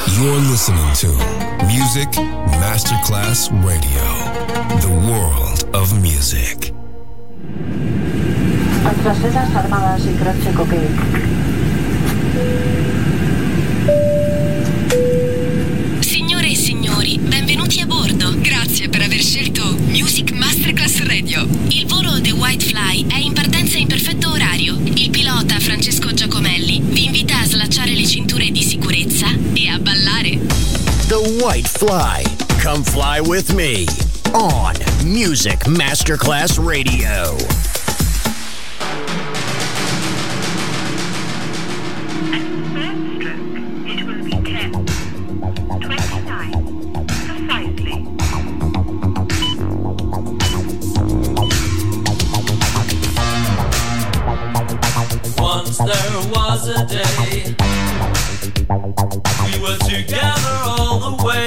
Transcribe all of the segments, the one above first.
You're listening to Music Masterclass Radio, the world of music. Francesas armadas y grazie cocaine. Signore e signori, benvenuti a bordo. Grazie per aver scelto Music Masterclass Radio. Il volo The White Fly è in partenza in perfetto orario. Il pilota Francesco Giacomelli vi invita a slacciare le cinture di sicurezza e a ballare. The White Fly. Come fly with me on Music Masterclass Radio. There was a day we were together all the way,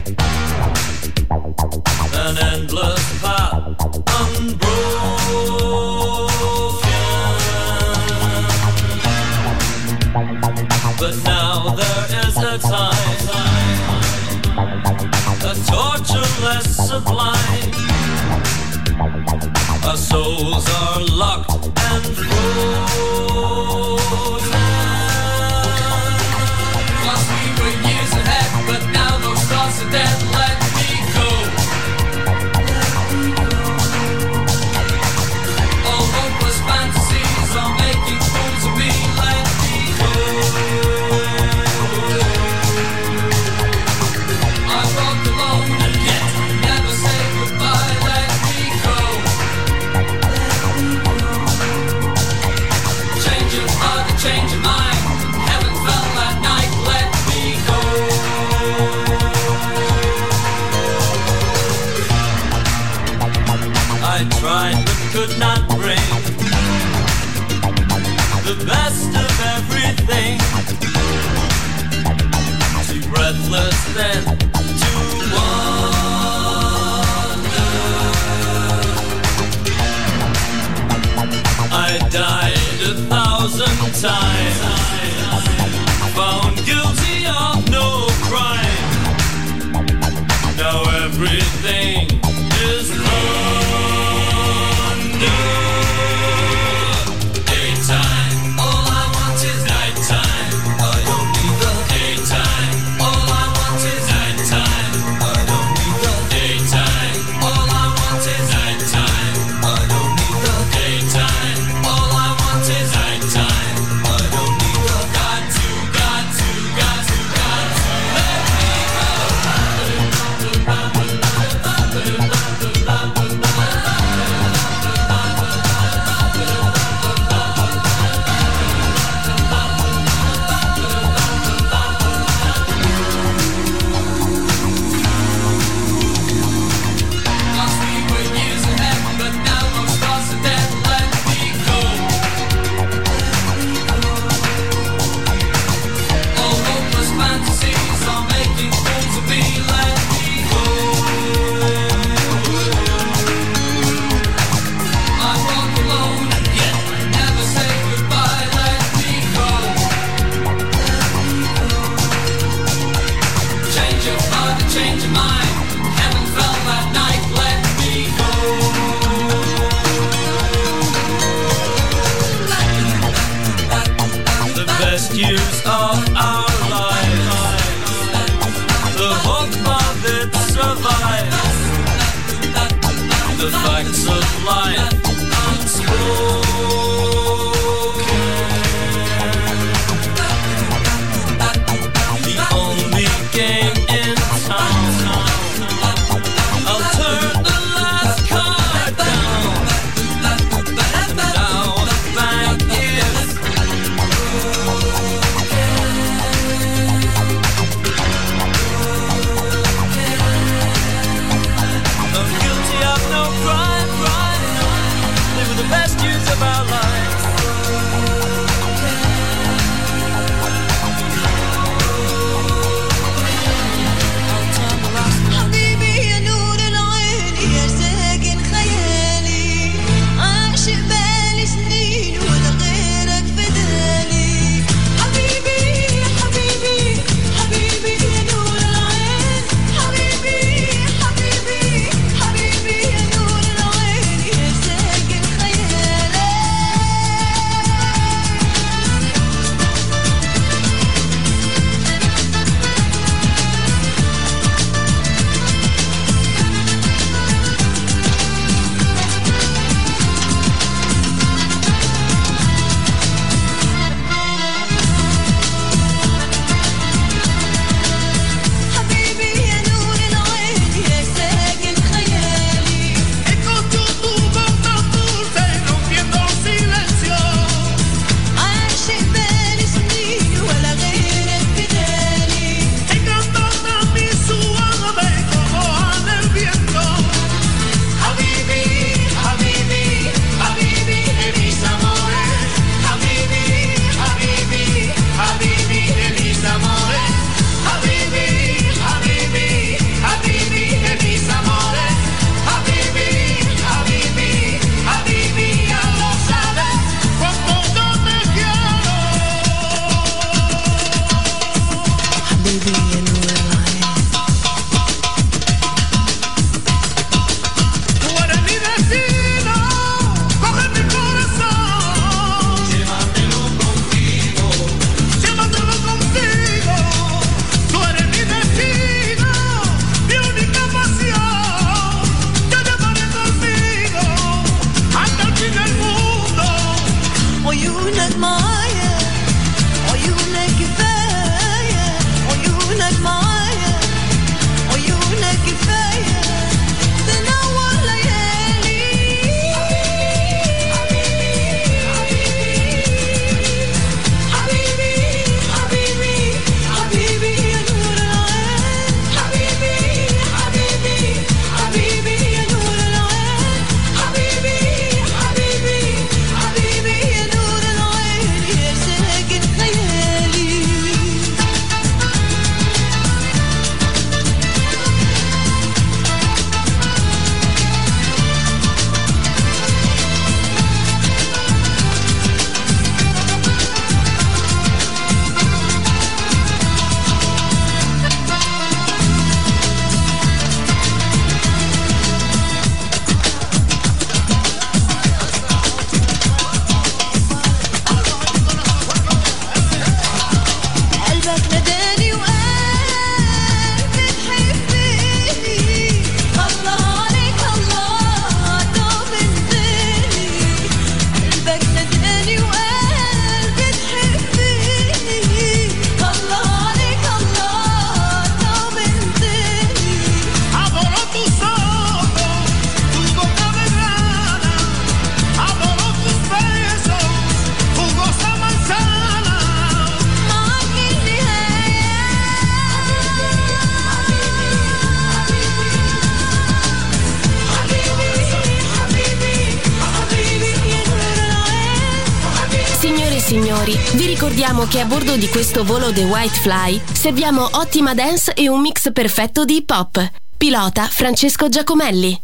an endless path unbroken. But now there is a time, a torture less sublime. Our souls are locked and frozen. Once we were years ahead, but now those thoughts are dead. Let me go. All hopeless fantasies are making fools of me. Let me go. I walk alone and yet never say goodbye. Let me go. Change your heart, change your mind. Heaven fell that night. Let me go. I tried but could not bring the best of everything. Too breathless then to wonder. I died 1,000 times, found guilty of no crime. Now everything is under. Daytime, all I want is nighttime. I don't need the daytime. All I want is nighttime. I don't need the daytime. All I want is nighttime. I don't need the daytime. All I want is nighttime. I don't need the got to let me Once we were years ahead, but now those thoughts are dead. Let me go. All hopeless fantasies are making fools of me. Let me go. I walk alone and yet never say goodbye. Let me go. Change your heart and change your mind. Heaven fell that night. Let me go. The best years of our lives, the hope of it survives, the facts of life unspoken. The only game in town. I'll turn the last card down. Now the bank is I'm guilty of no crime. signori, vi ricordiamo che a bordo di questo volo The White Fly serviamo ottima dance e un mix perfetto di hip hop. Pilota Francesco Giacomelli.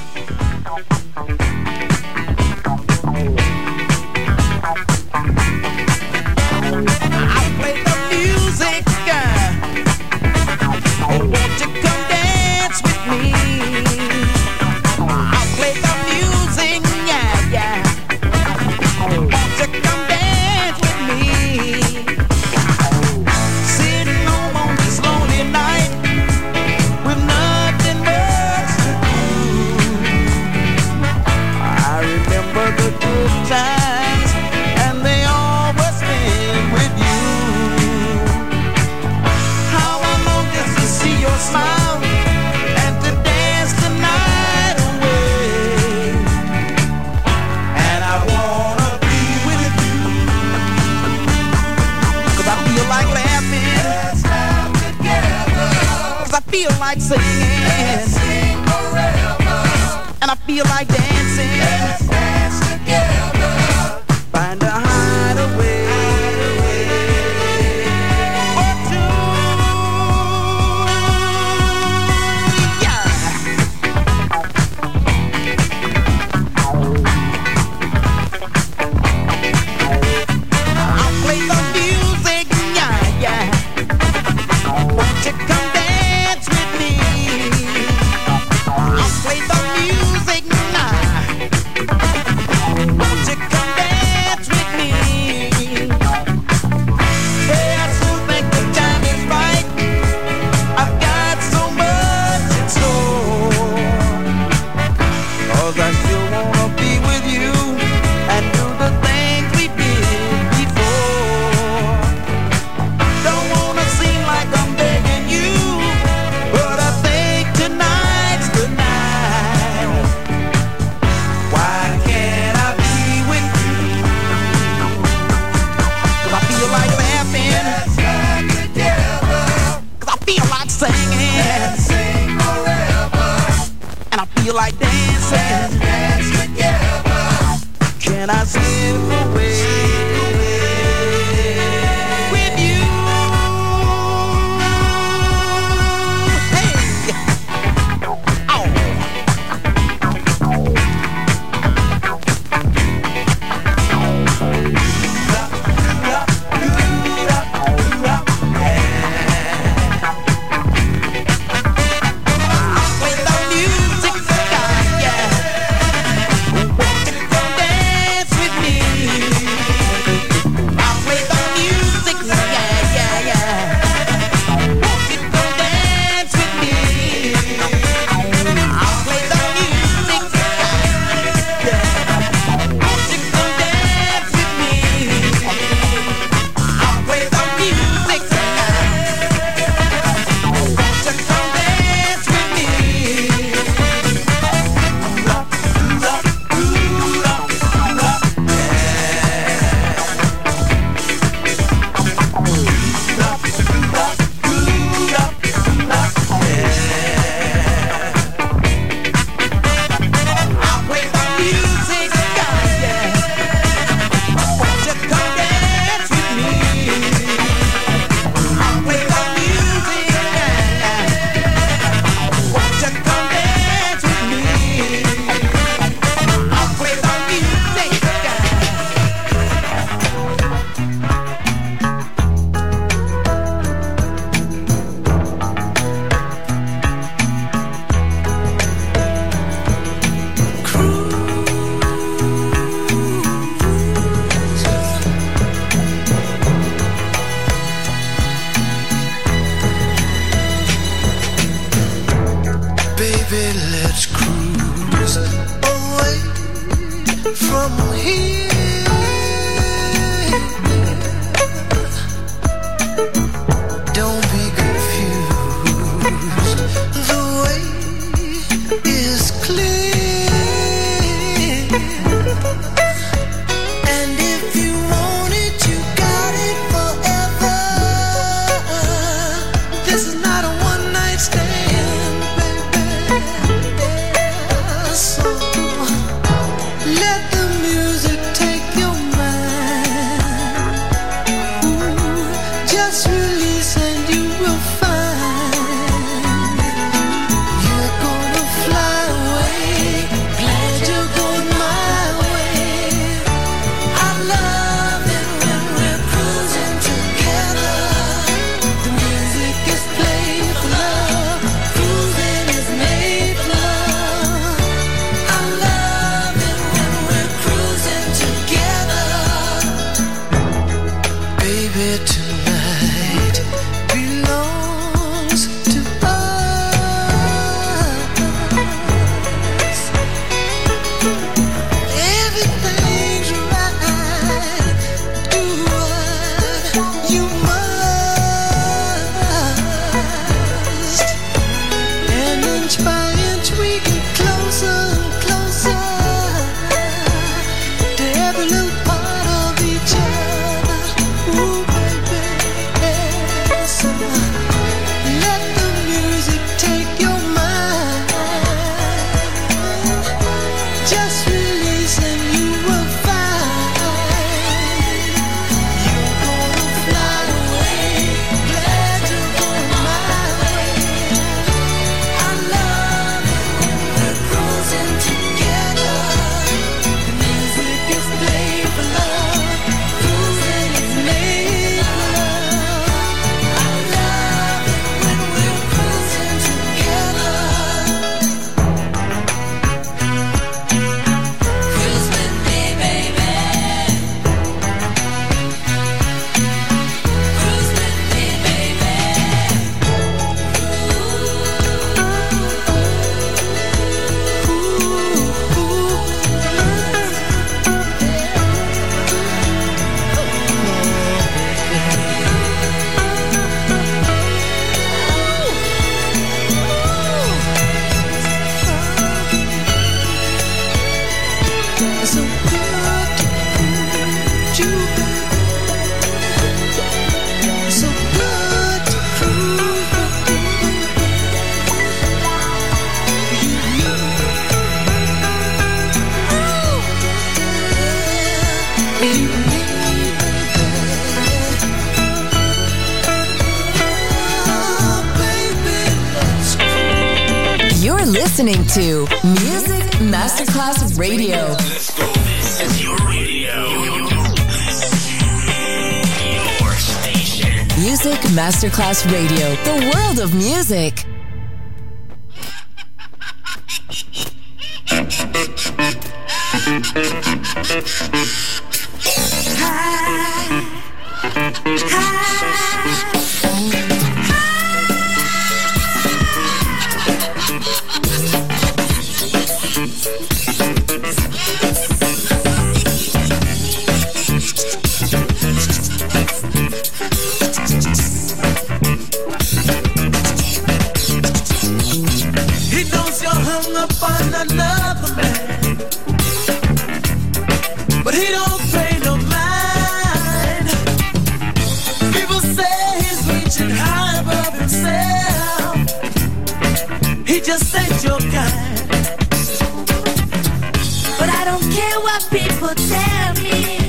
Feel like singing, let's sing forever. And I feel like dancing, let's dance together. Find a hideaway or two. I'll play the music, yeah. Won't you come dance with me? I'll play the music now. Won't you come dance with me? Yeah, I still think the time is right. I've got so much in store. 'Cause I still wanna be with you and do the things we did before. Don't wanna seem like I'm begging you, but I think tonight's the night. Why can't I be with you? 'Cause I feel like laughing, let's laugh together. 'Cause I feel like singing, let's sing forever. And I feel like dancing, let's dance together. Can I slip away with you? Hey, oh. I'll play the music, yeah. Won't you come dance with me? listening to Music Masterclass Radio. Let's go. This is your radio. Your station. Music Masterclass Radio. The world of music. He knows you're hung up on another man, but he don't pay no mind. People say he's reaching high above himself. He just ain't your kind. But I don't care what people tell me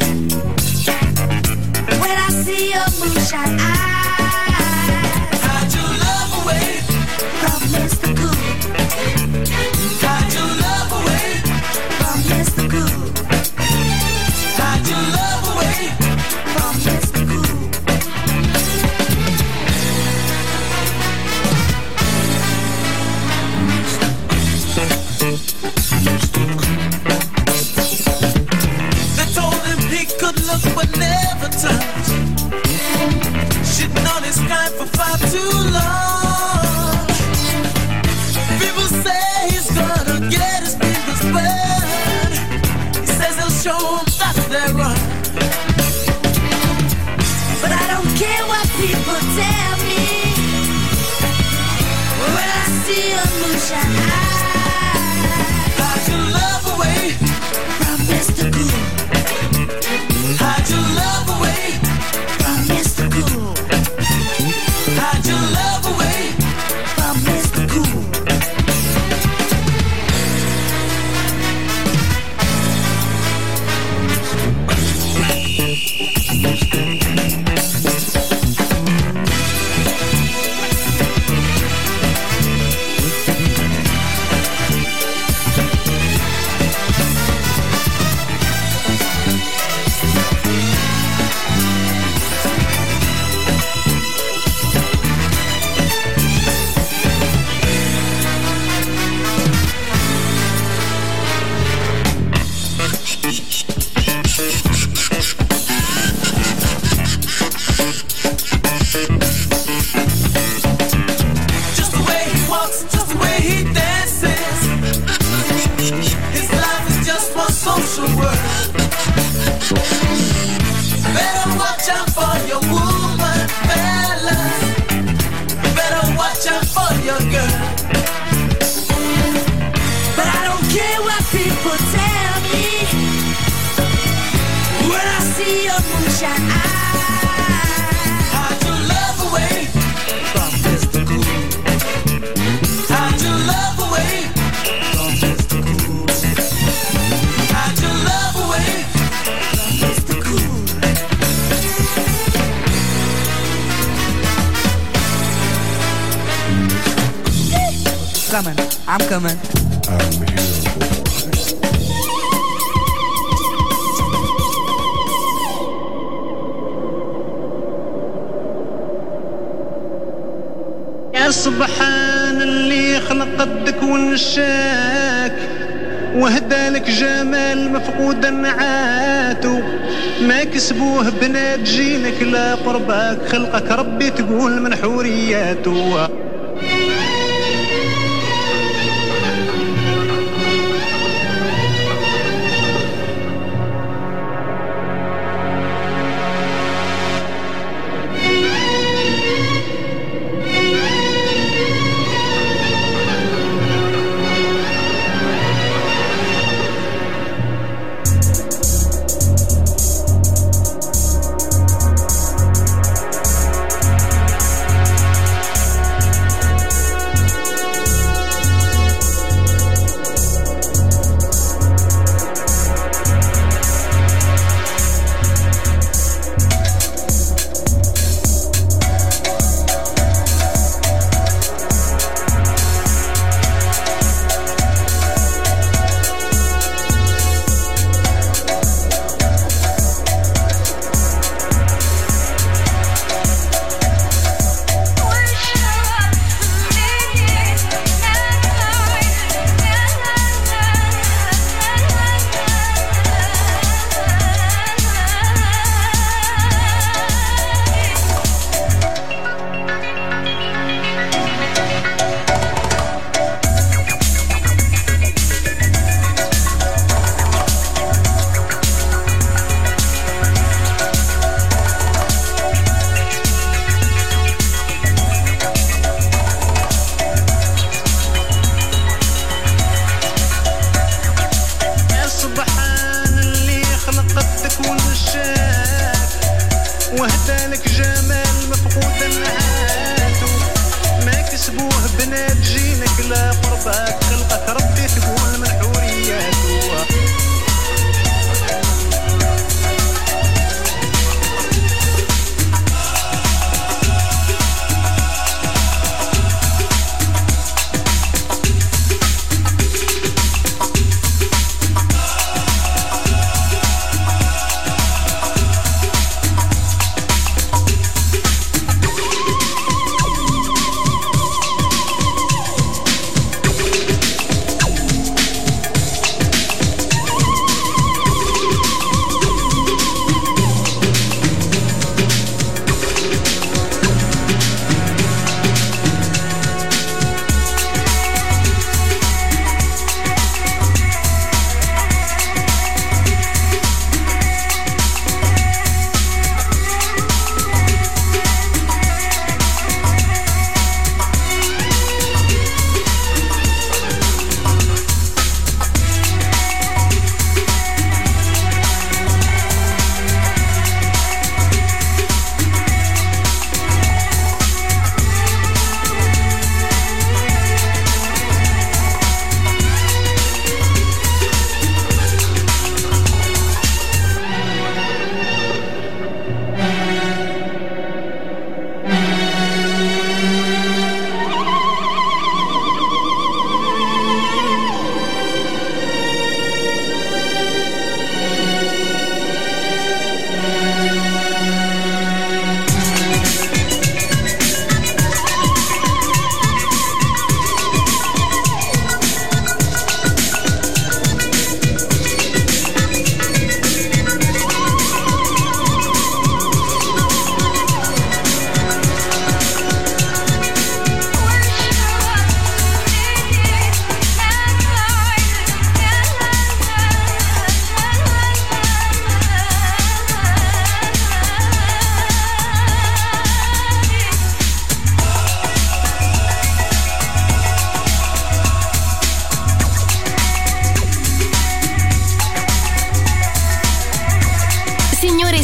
when I see your moonshine eyes. Hide your love away from Mr. Cool. Hide your love away from Mr. Cool. Hide your love away from Mr. Cool. They told him he could look but never touch. Shitting on his kind for far too long. People say he's gonna get his fingers burned. He says he'll show them that they're wrong. But I don't care what people tell me when I see your moonshine eyes. Hide your love away from Mr. Cool. Hide your love away from Mr. Cool. Hide your love away from Mr. Cool. Just the way he walks, just the way he dances. His life is just one social word. Better watch out for your woman, fellas. Better watch out for your girl. But I don't care what people tell me when I see your moonshine eyes. Hide your love away from Mr. Cool. Hide your love away from Mr. Cool. Hide your love away from Mr. Cool. Coming, I'm coming. I'm here. يا سبحان اللي خلق قدك ونشاك وهدالك جمال مفقود نعاتو ما كسبوه بنات جيلك لا قرباك خلقك ربي تقول من حورياته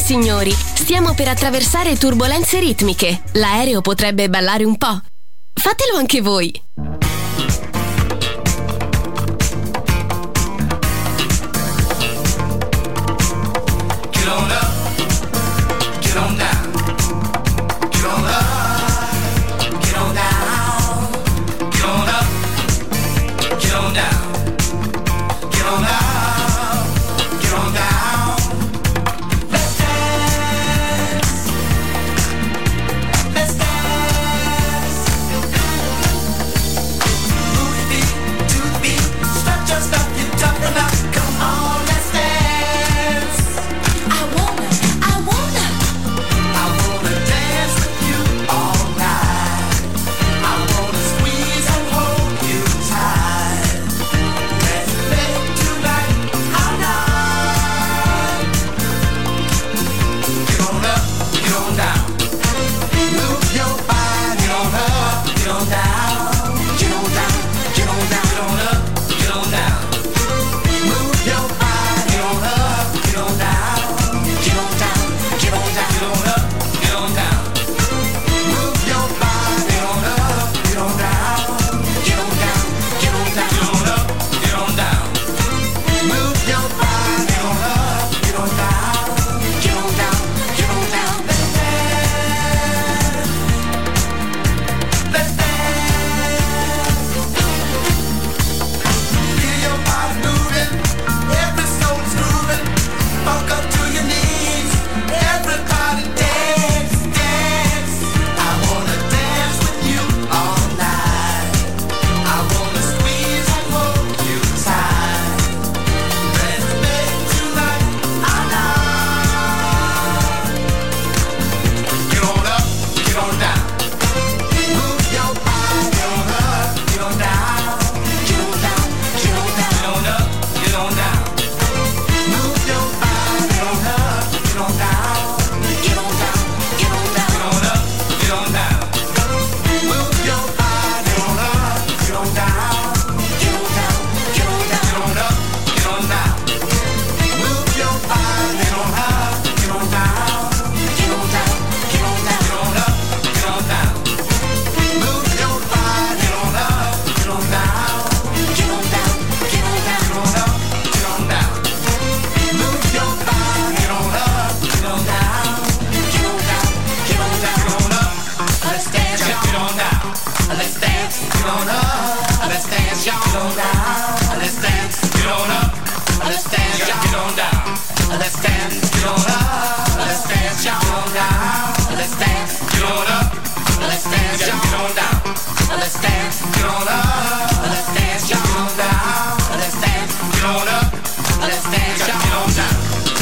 signori, stiamo per attraversare turbolenze ritmiche. L'aereo potrebbe ballare un po'. Fatelo anche voi. Get on up, get on down, get on up, get on down, get on up, get on down, get on up, get on down. Let's dance, let's dance. Move your feet to the beat, stretch your stuff, you're tough enough. Come on, let's dance. I wanna dance with you all night. I wanna squeeze and hold you tight. Let's make tonight our night. Get on up, get on down. Move your body on up, get on down. Get on down, get on down, get on up, get on down. Move your body on up, get on down. Get on down, get on down, get on up, get on down. Move your body on up, get on down. Get on down, get on down, get on up, get on down. Move your body on up, get on down. Get on down, get on down. Let's dance. Let's dance. Feel your body moving, every soul is grooving. Funk up to your knees, everybody dance, dance. I wanna dance with you all night. I wanna squeeze and hold you tight. Let's make tonight our night. Get on up, get on down. Move your body on up, get on down. Get on down, get on down. Get on up, get on down. Move your body on up, get on down. Get on down, get on down. Get on up, get on down. Move your body on up, get on down. Get on down, get on down. Get on up, get on down. Move your body on up, get on down. Get on down, get on down. Get on up, get on down. Move your body on up, get on down. Get on down, get on down. Get on up, get on down. Move your body on up, get on down. Get on down, get on down. Get on up, let's dance, y'all. Get on down, let's dance. Get on up, let's dance, y'all. Get on down, let's dance. Get on up, let's dance, y'all. Get on down, let's dance. Get on up, let's dance, y'all. Get on down, let's dance. Get on up, let's dance, y'all. Get on down, let's dance. Get on up, let's dance, y'all. Get on down, let's dance. Get on up, let's dance, y'all. Get on down.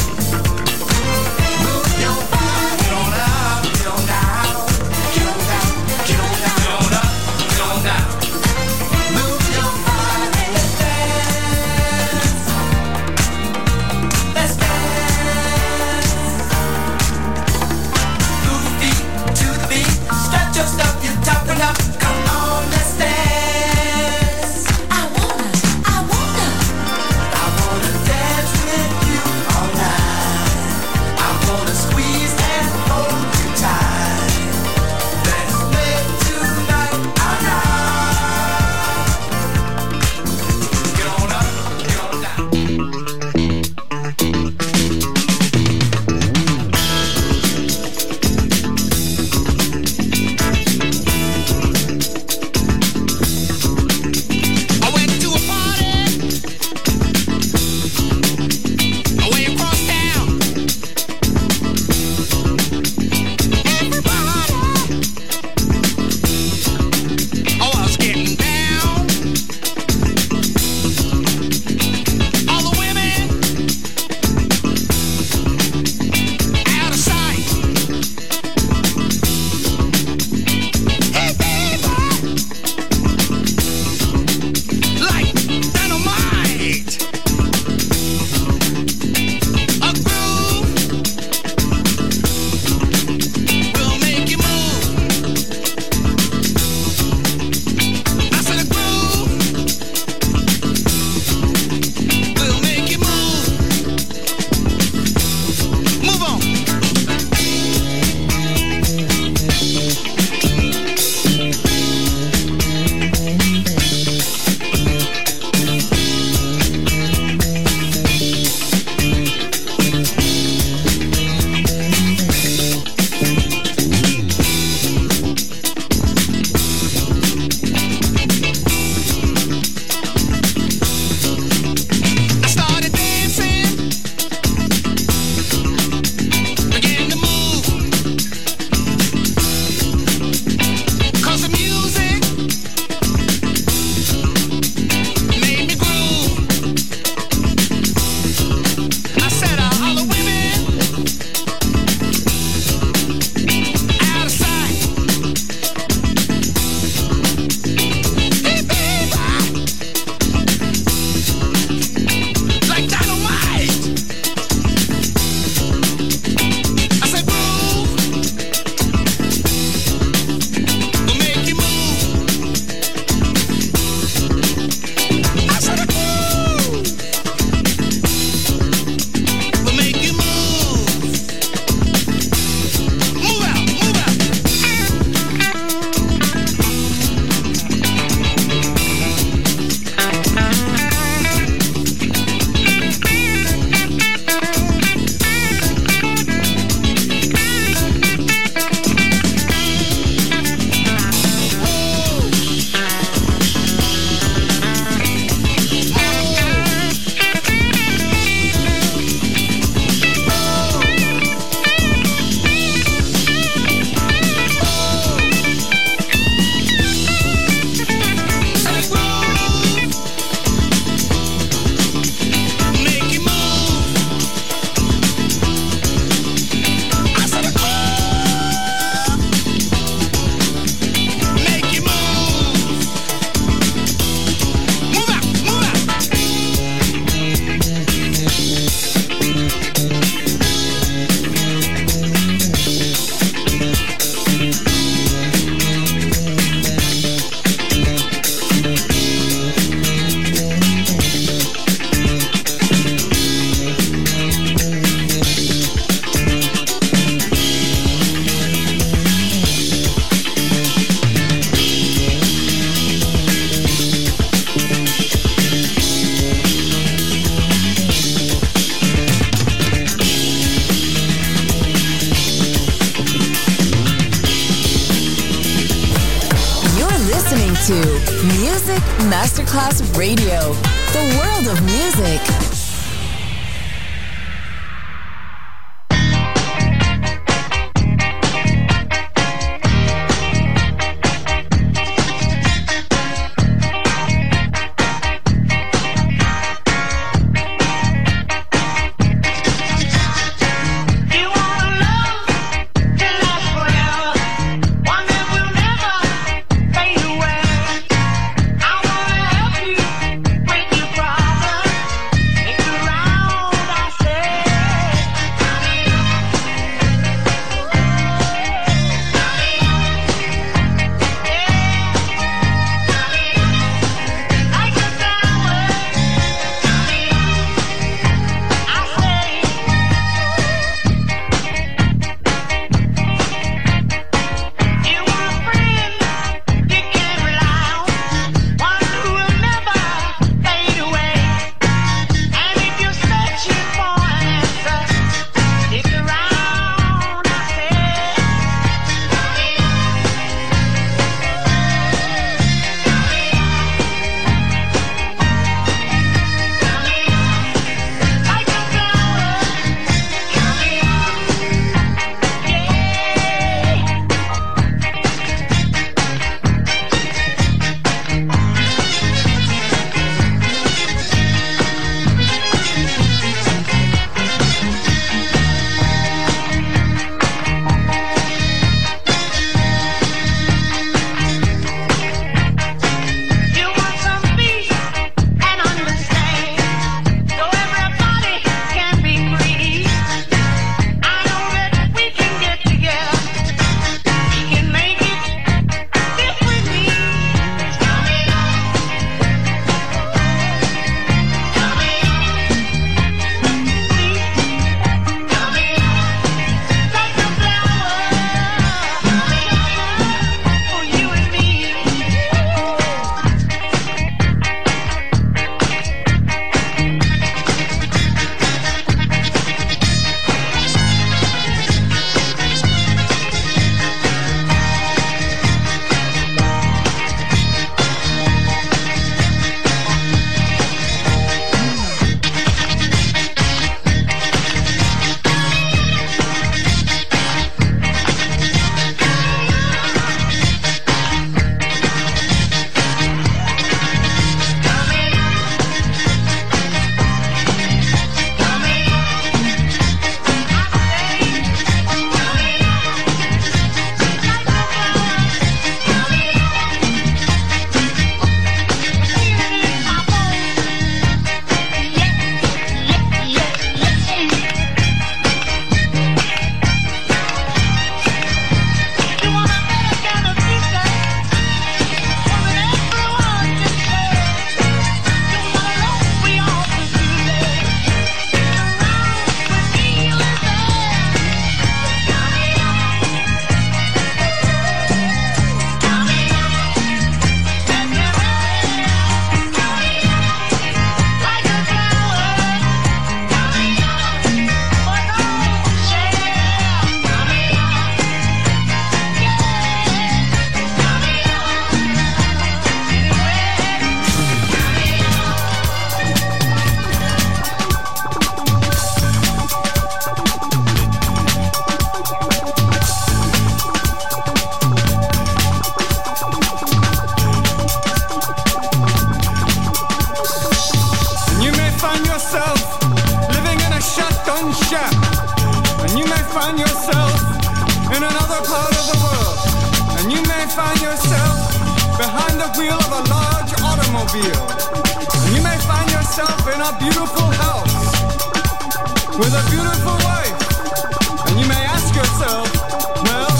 Move your body on up, get on down. Get on down, get on down. Get on up, get on down. Move your body, let's dance. Let's dance. Move your feet to the beat. Stretch your stuff, you're tough enough. Come on, let's dance. listening to Music Masterclass Radio, the world of music. find yourself in another part of the world, and you may find yourself behind the wheel of a large automobile, and you may find yourself in a beautiful house with a beautiful wife, and you may ask yourself, well,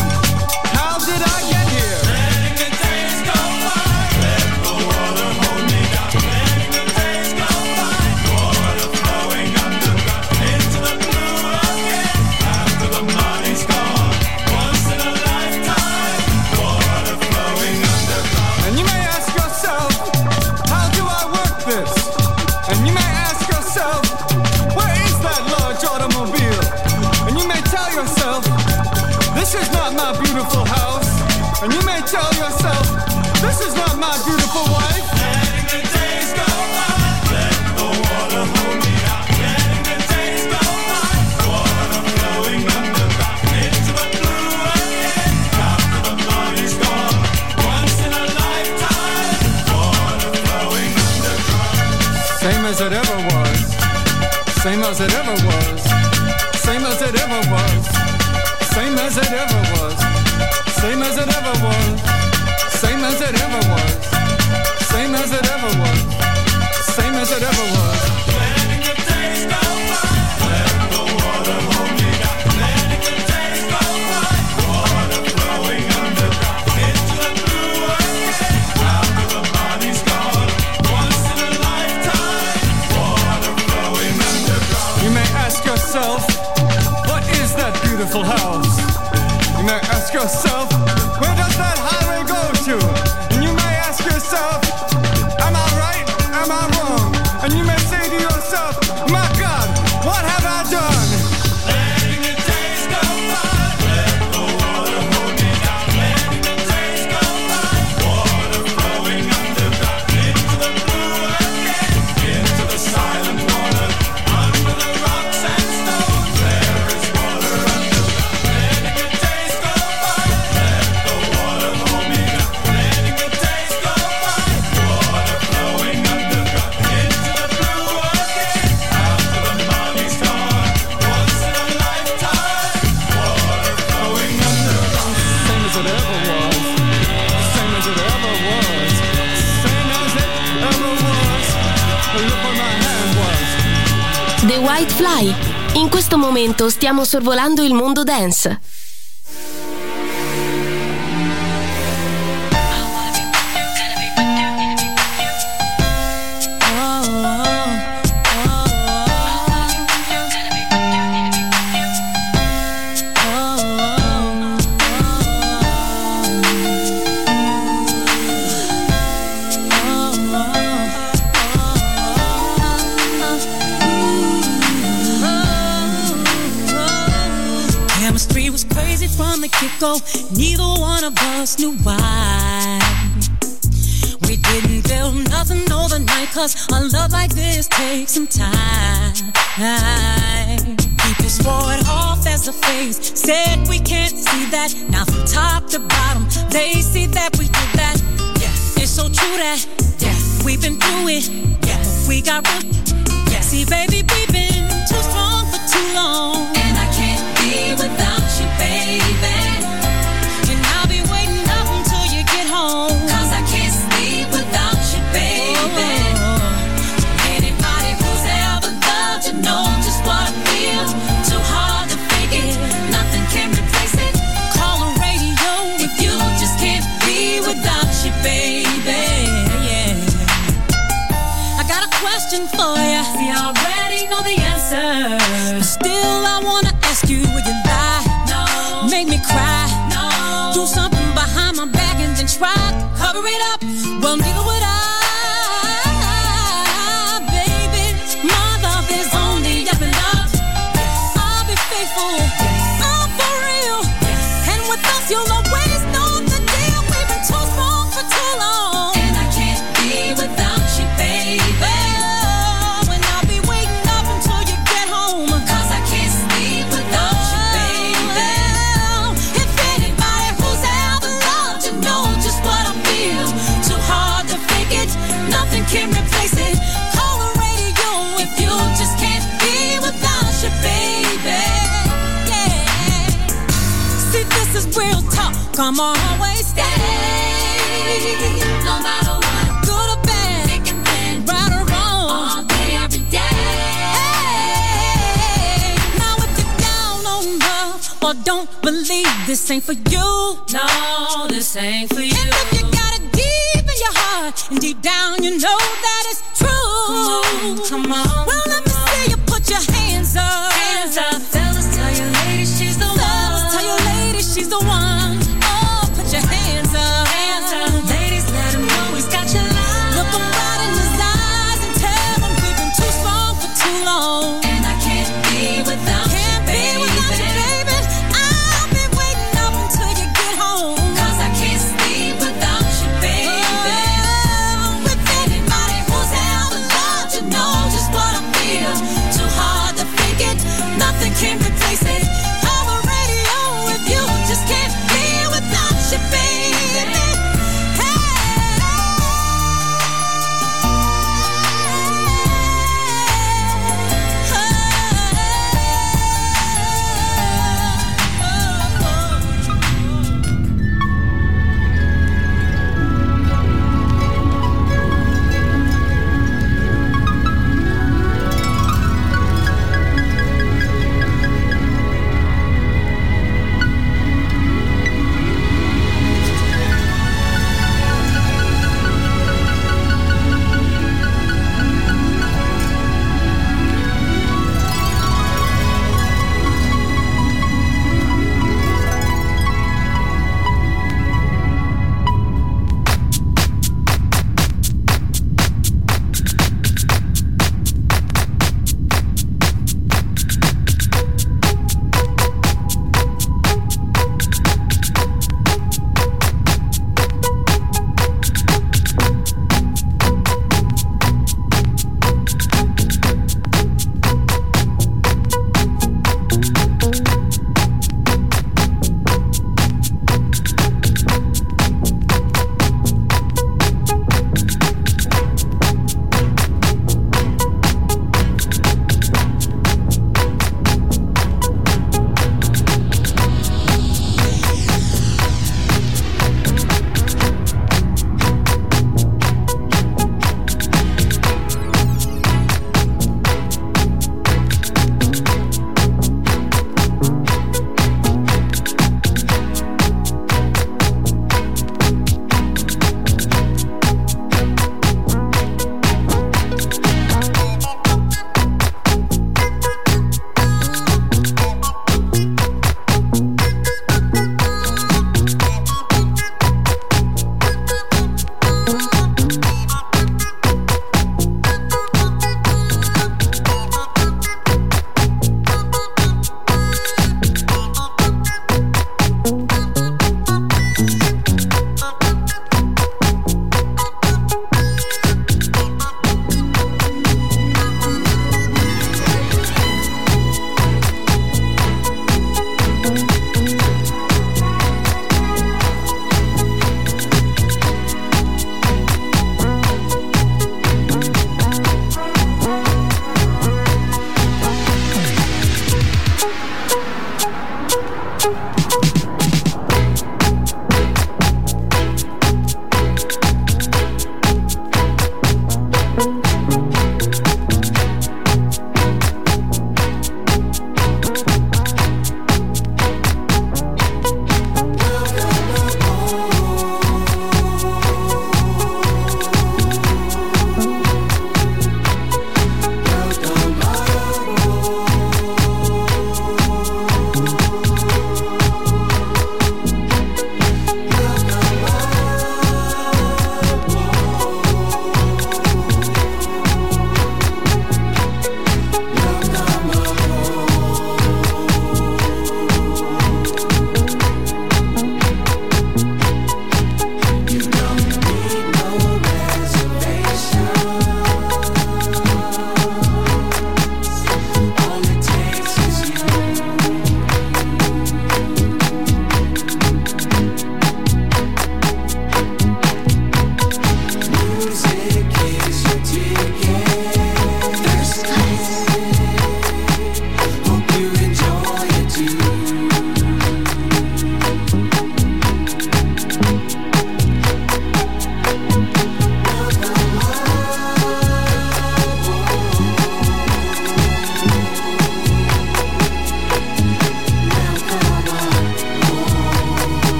how did I get here? Letting the days go by, let the water hold me down. Letting the days go by, water flowing underground into the blue again. After the money's gone, once in a lifetime, water flowing underground. And you may ask yourself, how do I work this? And you may ask yourself, where is that large automobile? And you may tell yourself, this is not my beautiful house. And you may tell yourself, This is not my beautiful wife. Letting the days go by. Let the water hold me out. Letting the days go by. Water flowing underground into the blue again. After the money's gone. Once in a lifetime. Water flowing underground. Same as it ever was. Same as it ever was. Same as it ever was. Same as it ever was. Same as it ever was. Same as it ever was. Same as it ever was. Same as it ever was. Letting the days go by. Let the water hold me down. Letting the days go by. Water flowing underground into the blue again. After the money's gone. Once in a lifetime. Water flowing underground. You may ask yourself, what is that beautiful house? You may ask yourself, where does that highway go to? And you may ask yourself, am I right? Am I wrong? And you may say to yourself, my God, what have I done? Letting the days go by. Let the water hold me down. Letting the days go by. Water flowing underground into the blue again. Into the silent water. Under the rocks and stones. There is water underground. Letting the days go by. Let the water hold me down. Letting the days go by. Water flowing underground into the blue again. After the money's gone. Once in a lifetime. Water flowing underground. Same as it ever was. Same as it ever was. Same as it ever was. Look where my hand was. The White Fly. In questo momento stiamo sorvolando il mondo dance. Chemistry was crazy from the get-go. Neither one of us knew why. We didn't build nothing overnight, 'cause a love like this takes some time. People swore it off as a phase, said we can't see that. Now from top to bottom, they see that we did that. Yeah, it's so true that, yeah, we've been through it. Yeah, we got real. Yeah, see baby, we've been too strong for too long. And I can't be without you, baby. And I'll be waiting up until you get home, 'cause I can't sleep without you, baby. Anybody who's ever loved you know just what I feel. Too hard to fake it, nothing can replace it. Call the radio if you just can't be without you, baby. Yeah. I got a question for you. See, I already know the answer. But still, I wanna ask you, would you lie? No. Make me cry? No. Do something behind my back and then try to cover it up? Well, neither would I, baby. My love is only up and up. I'll be faithful. I'm for real. And with us, you'll always know the deal. We've been too strong for too long. And I can't be without you, baby. And I'll be waiting up until you get home, 'cause I can't sleep without you, baby. If anybody who's ever loved you know just what I feel. Too hard to fake it, nothing can replace it. Call the radio if you just can't be without you, baby. Yeah. See, this is real talk. Come on, always stay. No matter what, good or bad, thick and thin, right or wrong, all day, every day. Hey, now if you're down on love or don't believe this ain't for you, no, this ain't for you. And if you got it deep in your heart and deep down you know that it's true, come on. Well, let me see you put your hands up. Hands up. Fellas, tell your lady she's the one. Fellas, tell your lady she's the one. Oh, put your hands up. Hands up. Ladies, let him know he's got your love. Look him right in his eyes and tell him we've been too strong for too long. And I can't be without you, baby. I'll be waiting up until you get home, 'cause I can't sleep without you, baby.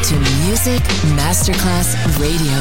to Music Masterclass Radio.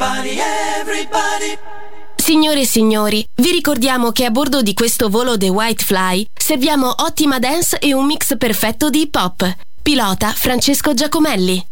Everybody, everybody. Signore e signori, vi ricordiamo che a bordo di questo volo The White Fly serviamo ottima dance e un mix perfetto di hip hop. Pilota Francesco Giacomelli.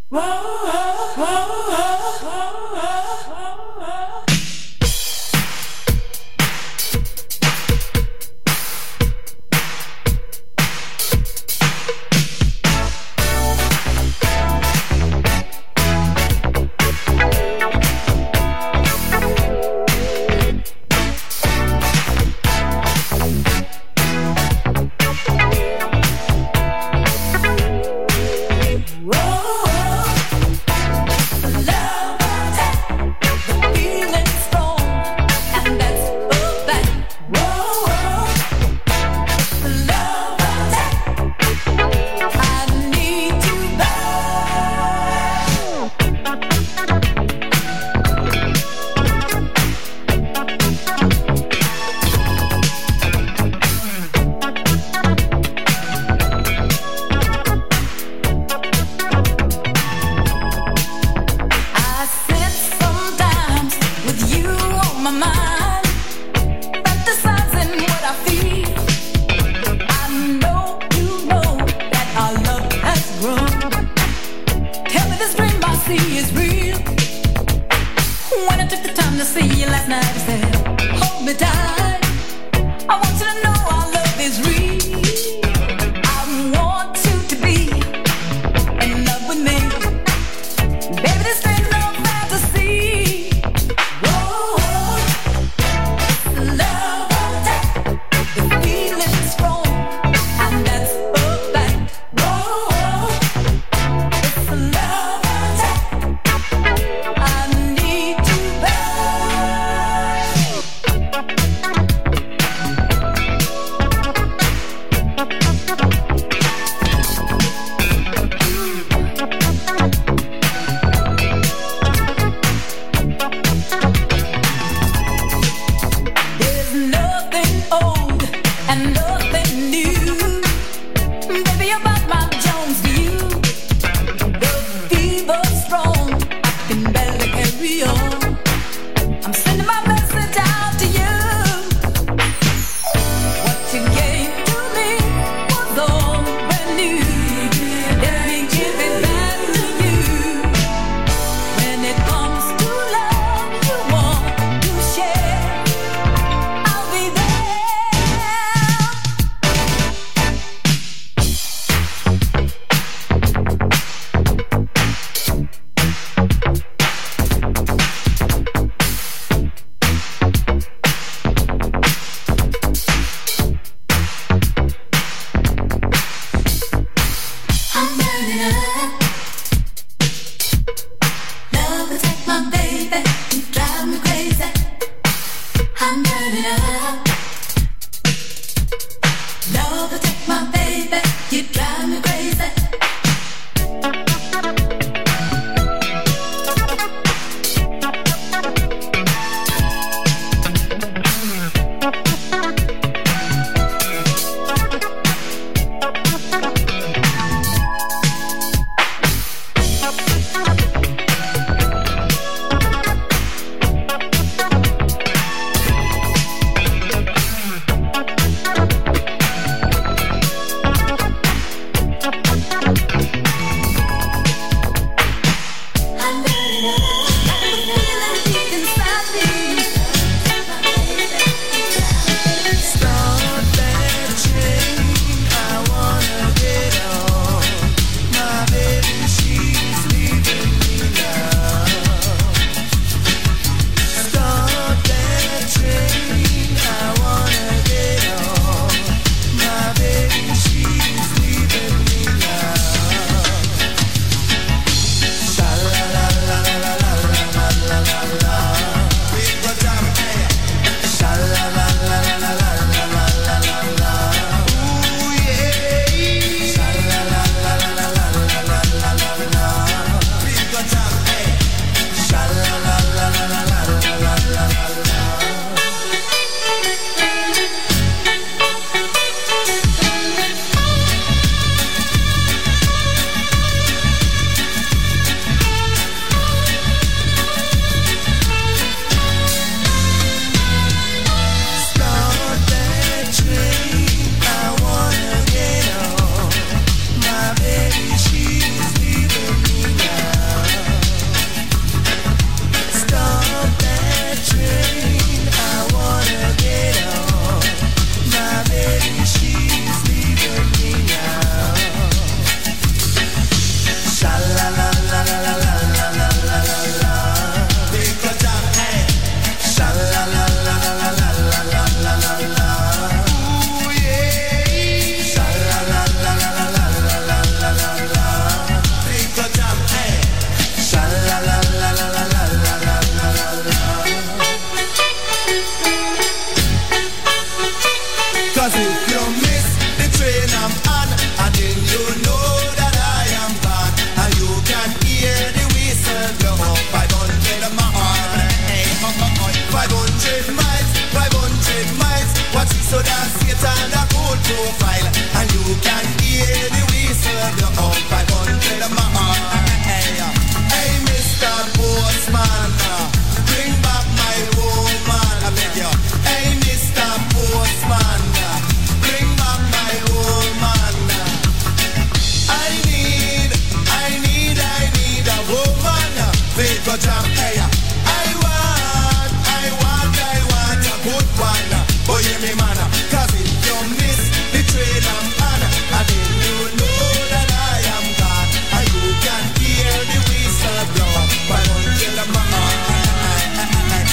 me man, cause if you miss the train I'm on, and then you know that I am gone, and you can hear the whistle blow. 500 miles,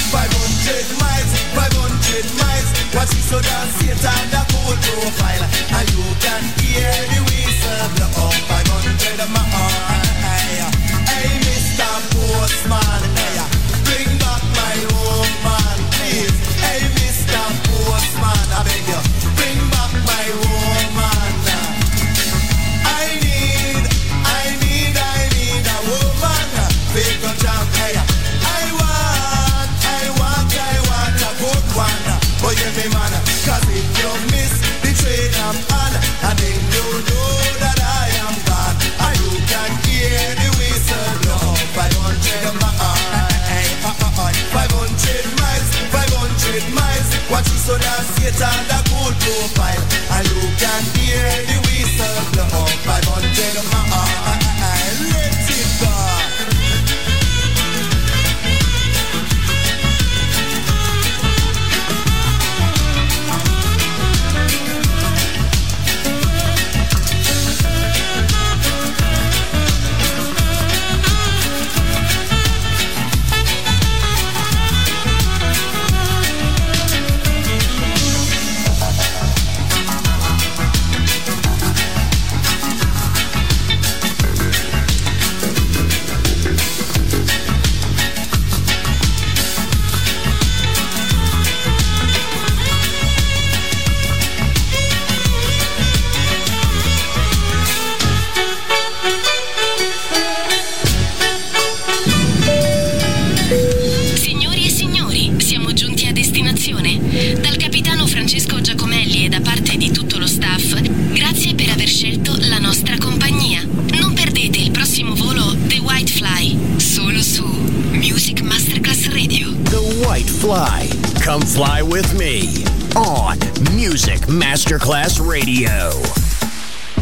500 miles, watch it so down, see it on the cool profile, and you can hear the whistle blow. 500 miles. Hey, Mr. Postman, hey, bring back my woman, please. Hey, Mr. Postman, I beg you, bring back my woman. I need a woman. Big a jump, hey. I want a good one. But you me man, cause if you miss the train I'm on, and then you know that I am gone, and you can hear the whistle blow. 500 miles, 500 miles. Watch you so down, see it on the cool profile, and you can hear the whistle blow. 500 miles, let it go. Dal capitano Francesco Giacomelli e da parte di tutto lo staff, grazie per aver scelto la nostra compagnia. Non perdete il prossimo volo The White Fly, solo su Music Masterclass Radio. The White Fly. Come fly with me on Music Masterclass Radio.